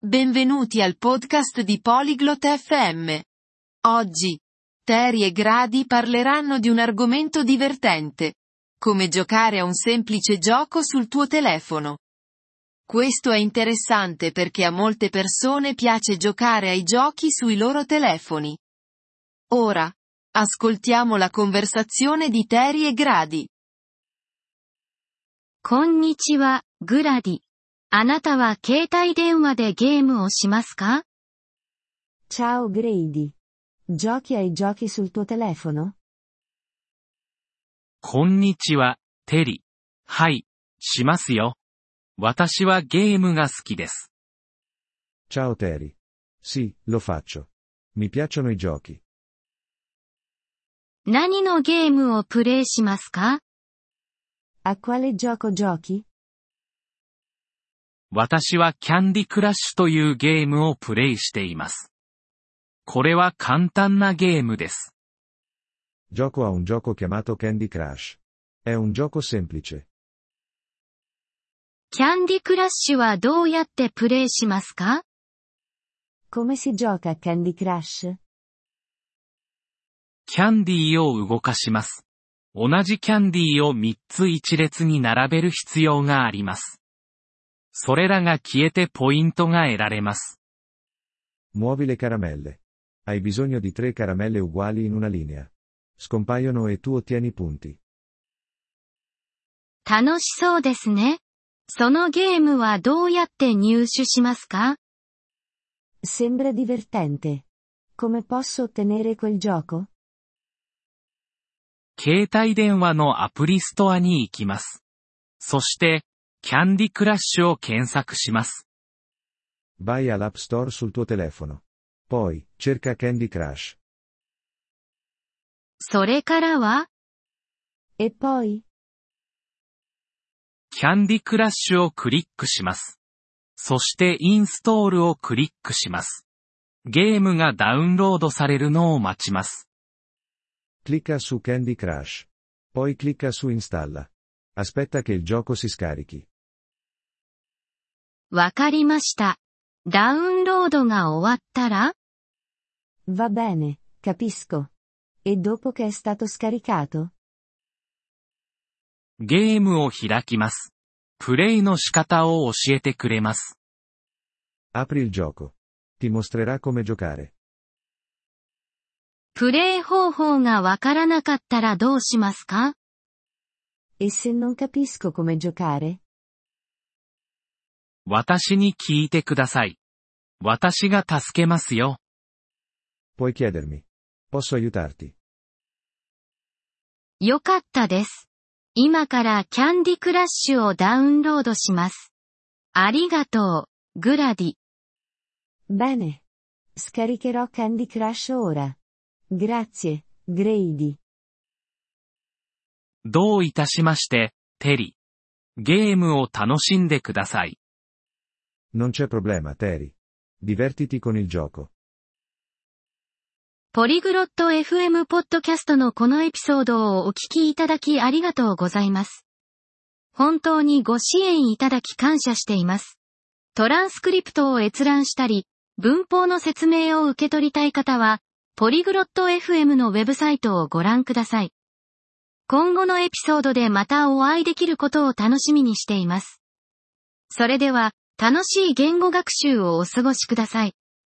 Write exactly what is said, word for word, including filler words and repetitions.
Benvenuti al podcast di Polyglot F M. Oggi, Terry e Grady parleranno di un argomento divertente. Come giocare a un semplice gioco sul tuo telefono. Questo è interessante perché a molte persone piace giocare ai giochi sui loro telefoni. Ora, ascoltiamo la conversazione di Terry e Grady. こんにちは、グラディ。あなたは携帯電話でゲームをしますか？ Ciao Grady. Giochi ai giochi sul tuo telefono? こんにちは、テリ。はい、しますよ。私はゲームが好きです。 Ciao Terry. Sì, lo faccio. Mi piacciono i giochi. 何のゲームをプレイしますか？ A quale gioco giochi? 私はキャンディクラッシュというゲームをプレイしています。これは簡単なゲームです。 Gioco a un gioco chiamato Candy Crush. È un gioco semplice. キャンディクラッシュはどうやってプレイしますか？ Come si gioca a Candy Crush? キャンディーを動かします。同じキャンディーをみっつ一列に並べる必要があります。それらが消えてポイントが得られます。 Muovi le caramelle. Hai bisogno di tre caramelle uguali in una linea. Scompaiono e tu ottieni punti. 楽しそうですね。そのゲームはどうやって入手しますか？ Sembra divertente. Come posso ottenere quel gioco? 携帯電話のアプリストアに行きます。そして、キャンディクラッシュを検索します。 Vai all'App Store sul tuo telefono. Poi, cerca Candy Crush. それからは？ E poi? キャンディクラッシュをクリックします。そしてインストールをクリックします。ゲームがダウンロードされるのを待ちます。 Clicca su Candy Crush. Poi clicca su Installa. Aspetta che il gioco si scarichi. わかりました。ダウンロードが終わったら？ Va bene, capisco. E dopo che è stato scaricato? ゲームを開きます。プレイの仕方を教えてくれます。 Apri il gioco. Ti mostrerà come giocare. プレイ方法がわからなかったらどうしますか？ E se non capisco come giocare? 私に聞いてください。私が助けますよ。 Puoi chiedermi. Posso aiutarti. よかったです。今からキャンディクラッシュをダウンロードします。ありがとう、グラディ。 Bene. Scaricherò Candy Crush ora. Grazie, Grady. どういたしまして、テリ。ゲームを楽しんでください。 Non c'è problema, Terry. Divertiti con il gioco. ポリグロット エフエム ポッドキャストのこのエピソードをお聞きいただきありがとうございます。本当にご支援いただき感謝しています。トランスクリプトを閲覧したり、文法の説明を受け取りたい方は、ポリグロット エフエム のウェブサイトをご覧ください。今後のエピソードでまたお会いできることを楽しみにしています。それでは、楽しい言語学習をお過ごしください。